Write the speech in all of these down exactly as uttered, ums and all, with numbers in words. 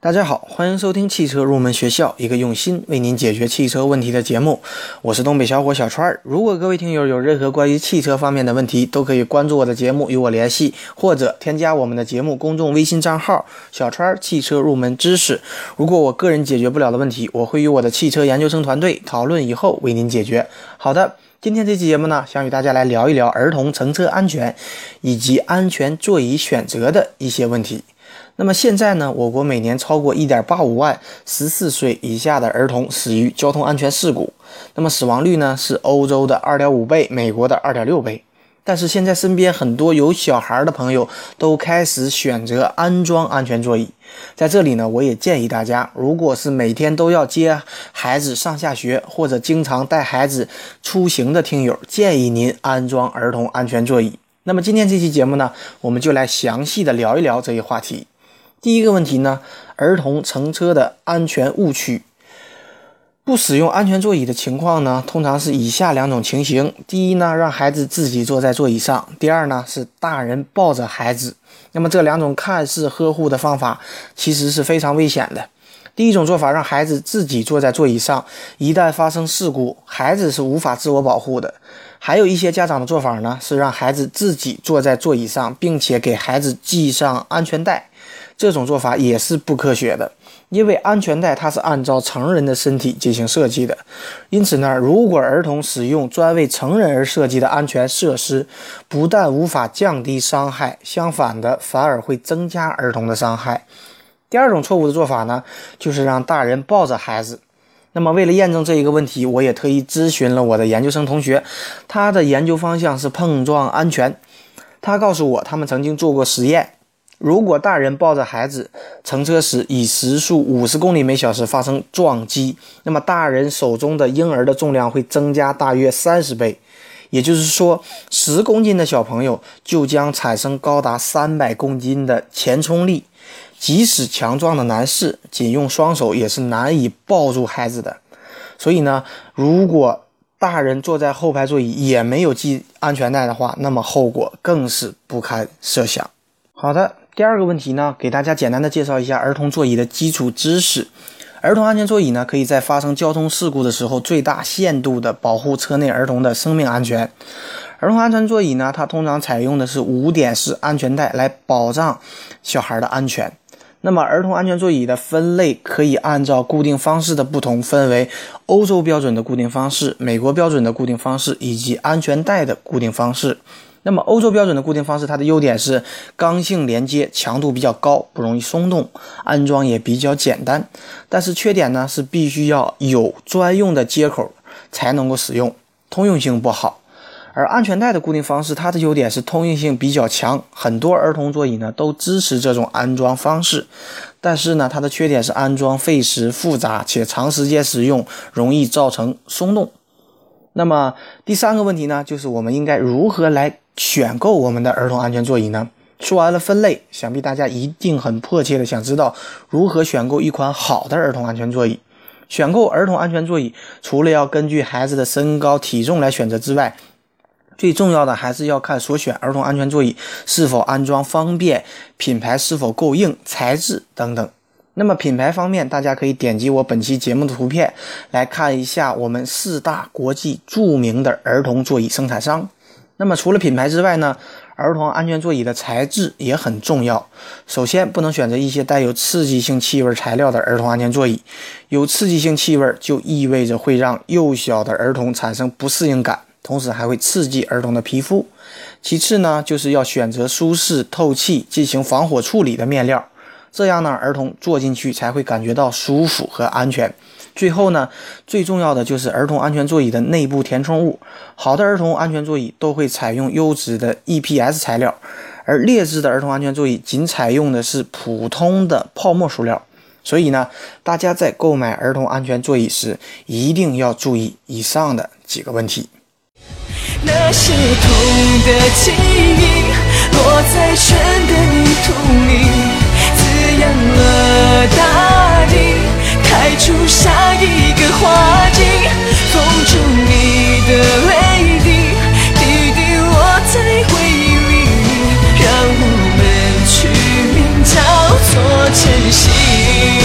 大家好，欢迎收听汽车入门学校，一个用心为您解决汽车问题的节目。我是东北小伙小川。如果各位听友有任何关于汽车方面的问题，都可以关注我的节目与我联系，或者添加我们的节目公众微信账号小川汽车入门知识。如果我个人解决不了的问题，我会与我的汽车研究生团队讨论以后为您解决。好的，今天这期节目呢，想与大家来聊一聊儿童乘车安全以及安全座椅选择的一些问题。那么现在呢，我国每年超过 一点八五万十四岁以下的儿童死于交通安全事故，那么死亡率呢是欧洲的 二点五倍，美国的 二点六倍。但是现在身边很多有小孩的朋友都开始选择安装安全座椅。在这里呢，我也建议大家，如果是每天都要接孩子上下学，或者经常带孩子出行的听友，建议您安装儿童安全座椅。那么今天这期节目呢，我们就来详细的聊一聊这一话题。第一个问题呢，儿童乘车的安全误区。不使用安全座椅的情况呢，通常是以下两种情形。第一呢，让孩子自己坐在座椅上；第二呢，是大人抱着孩子。那么这两种看似呵护的方法，其实是非常危险的。第一种做法，让孩子自己坐在座椅上，一旦发生事故，孩子是无法自我保护的。还有一些家长的做法呢，是让孩子自己坐在座椅上，并且给孩子系上安全带。这种做法也是不科学的，因为安全带它是按照成人的身体进行设计的，因此呢，如果儿童使用专为成人而设计的安全设施，不但无法降低伤害，相反的反而会增加儿童的伤害。第二种错误的做法呢，就是让大人抱着孩子。那么为了验证这一个问题，我也特意咨询了我的研究生同学，他的研究方向是碰撞安全。他告诉我，他们曾经做过实验，如果大人抱着孩子乘车时以时速五十公里每小时发生撞击，那么大人手中的婴儿的重量会增加大约三十倍，也就是说十公斤的小朋友就将产生高达三百公斤的前冲力。即使强壮的男士仅用双手也是难以抱住孩子的。所以呢，如果大人坐在后排座椅也没有系安全带的话，那么后果更是不堪设想。好的，第二个问题呢，给大家简单的介绍一下儿童座椅的基础知识。儿童安全座椅呢，可以在发生交通事故的时候最大限度的保护车内儿童的生命安全。儿童安全座椅呢，它通常采用的是五点式安全带来保障小孩的安全。那么儿童安全座椅的分类可以按照固定方式的不同分为欧洲标准的固定方式、美国标准的固定方式以及安全带的固定方式。那么欧洲标准的固定方式，它的优点是刚性连接，强度比较高，不容易松动，安装也比较简单。但是缺点呢，是必须要有专用的接口才能够使用，通用性不好。而安全带的固定方式，它的优点是通用性比较强，很多儿童座椅呢都支持这种安装方式。但是呢，它的缺点是安装费时复杂，且长时间使用容易造成松动。那么第三个问题呢，就是我们应该如何来选购我们的儿童安全座椅呢？说完了分类，想必大家一定很迫切的想知道如何选购一款好的儿童安全座椅。选购儿童安全座椅，除了要根据孩子的身高体重来选择之外，最重要的还是要看所选儿童安全座椅是否安装方便，品牌是否够硬，材质等等。那么品牌方面，大家可以点击我本期节目的图片来看一下我们四大国际著名的儿童座椅生产商。那么除了品牌之外呢，儿童安全座椅的材质也很重要。首先，不能选择一些带有刺激性气味材料的儿童安全座椅，有刺激性气味就意味着会让幼小的儿童产生不适应感，同时还会刺激儿童的皮肤。其次呢，就是要选择舒适透气进行防火处理的面料，这样呢，儿童坐进去才会感觉到舒服和安全。最后呢，最重要的就是儿童安全座椅的内部填充物。好的儿童安全座椅都会采用优质的 E P S 材料，而劣质的儿童安全座椅仅采用的是普通的泡沫塑料。所以呢，大家在购买儿童安全座椅时，一定要注意以上的几个问题。 那些痛的记忆落在春的泥土里，滋养了大地，开出下一个花季，封住你的泪滴，滴滴落在回忆里，让我们取名叫做珍惜。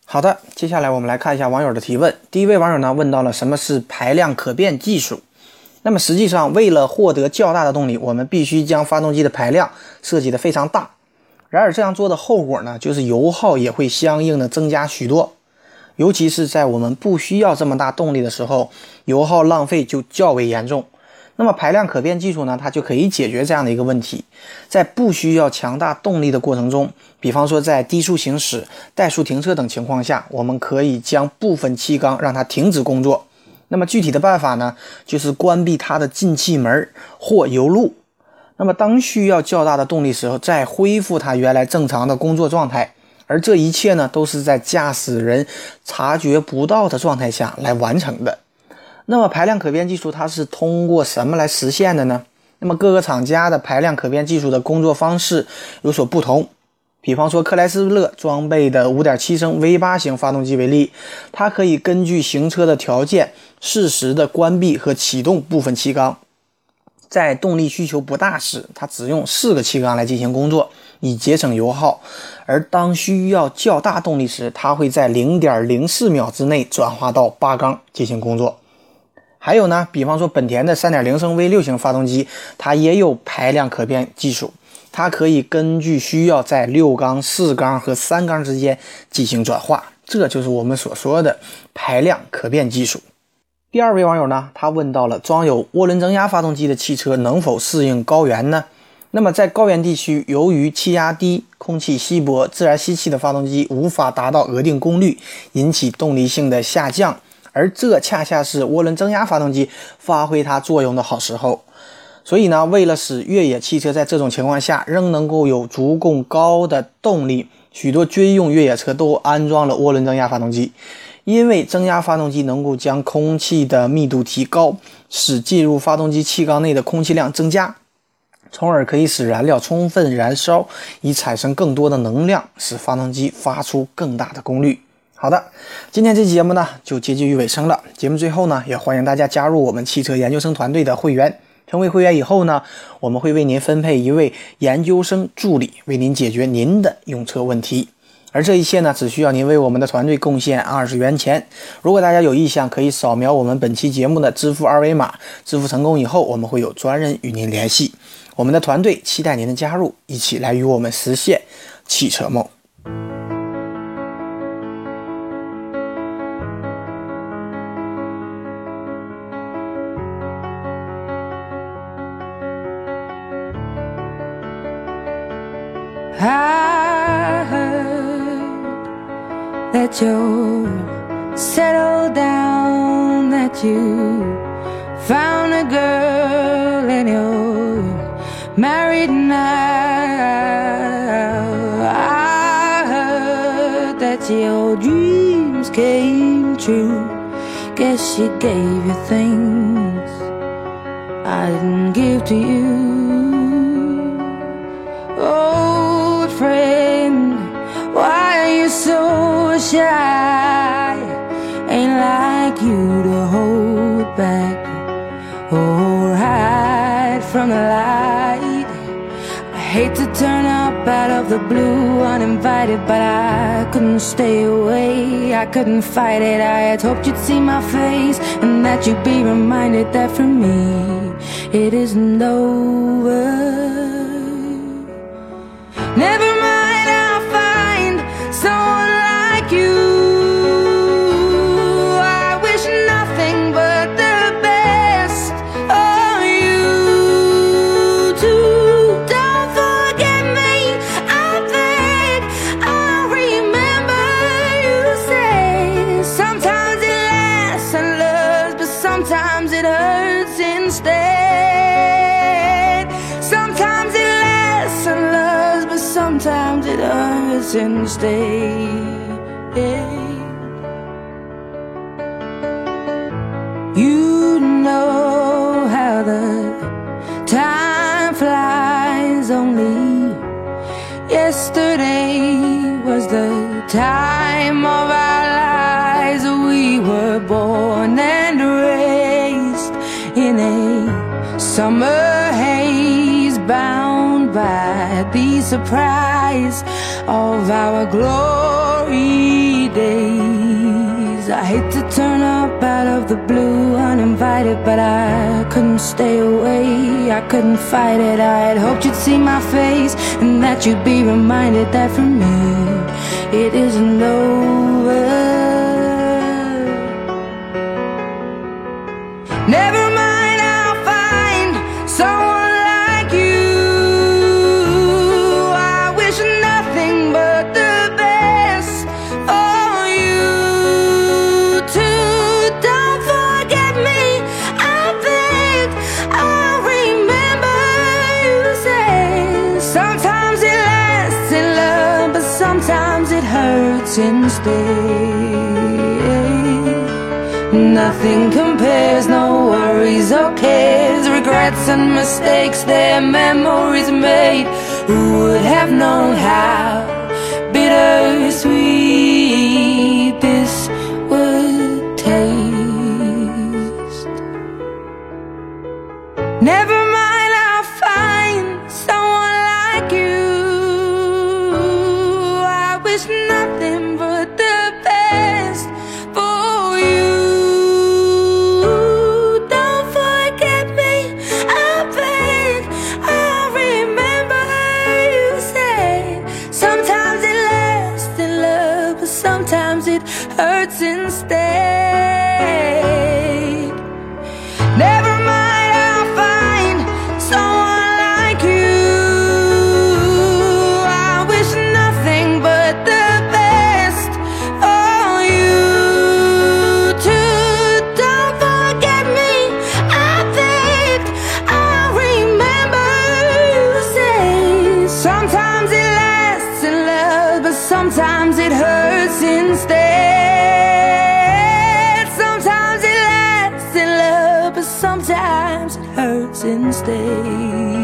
好的，接下来我们来看一下网友的提问。第一位网友呢问到了什么是排量可变技术。那么实际上，为了获得较大的动力，我们必须将发动机的排量设计得非常大。然而这样做的后果呢，就是油耗也会相应的增加许多。尤其是在我们不需要这么大动力的时候，油耗浪费就较为严重。那么排量可变技术呢，它就可以解决这样的一个问题。在不需要强大动力的过程中，比方说在低速行驶、怠速停车等情况下，我们可以将部分气缸让它停止工作。那么具体的办法呢，就是关闭它的进气门或油路。那么当需要较大的动力时候，再恢复它原来正常的工作状态。而这一切呢，都是在驾驶人察觉不到的状态下来完成的。那么排量可变技术它是通过什么来实现的呢？那么各个厂家的排量可变技术的工作方式有所不同。比方说克莱斯勒装备的 五点七 升 V 八 型发动机为例，它可以根据行车的条件适时的关闭和启动部分气缸。在动力需求不大时，它只用四个气缸来进行工作，以节省油耗。而当需要较大动力时，它会在 零点零四 秒之内转化到八缸进行工作。还有呢，比方说本田的 三点零 升 V 六 型发动机，它也有排量可变技术，它可以根据需要在六缸、四缸和三缸之间进行转化，这就是我们所说的排量可变技术。第二位网友呢，他问到了装有涡轮增压发动机的汽车能否适应高原呢？那么在高原地区，由于气压低、空气稀薄，自然吸气的发动机无法达到额定功率，引起动力性的下降，而这恰恰是涡轮增压发动机发挥它作用的好时候。所以呢，为了使越野汽车在这种情况下仍能够有足够高的动力，许多军用越野车都安装了涡轮增压发动机。因为增压发动机能够将空气的密度提高，使进入发动机气缸内的空气量增加，从而可以使燃料充分燃烧，以产生更多的能量，使发动机发出更大的功率。好的，今天这期节目呢就接近于尾声了。节目最后呢，也欢迎大家加入我们汽车研究生团队的会员。成为会员以后呢，我们会为您分配一位研究生助理，为您解决您的用车问题。而这一切呢，只需要您为我们的团队贡献二十元钱。如果大家有意向，可以扫描我们本期节目的支付二维码，支付成功以后，我们会有专人与您联系。我们的团队期待您的加入，一起来与我们实现汽车梦。 I heard that you settled down, that you found a girl and you're married now. I heard that your dreams came true. Guess she gave you things I didn't give to you. Old friend, why are you so shy? Ain't like you to hold back or hide from the light. I hate to turn up out of the blue uninvited, but I couldn't stay away, I couldn't fight it. I had hoped you'd see my face and that you'd be reminded that for me it isn't over. Never mind, I'll find someone like you. I wish nothing but the best of you too. Don't forget me, I beg. I remember you say sometimes it lasts and loves, but sometimes it hurts instead. Sometimes it lasts and loves, but sometimes it hurts instead. You know how the time flies. Only yesterday was the time of our lives. We were born and raised in a summer haze, bound by the surprise of our glory days. days. I hate to turn up out of the blue uninvited, but I couldn't stay away, I couldn't fight it. I had hoped you'd see my face and that you'd be reminded that for me it isn't over. Never mind, I'll find someone like you. I wish nothing but the best for you too. Don't forget me, I beg. I remember you said sometimes it lasts in love, but sometimes it hurts instead. Nothing compares, no worries or cares, regrets and mistakes, their memories made. Who would have known how bittersweet this would taste? Never mind, I'll find someone like you. I wish nothing but the best for you. Sometimes it hurts instead. Never mind, I'll find someone like you. I wish nothing but the best for you too. Don't forget me, I beg. I remember you say sometimes it lasts in love, but sometimes it hurts instead. Sometimes it lasts in love, but sometimes it hurts instead.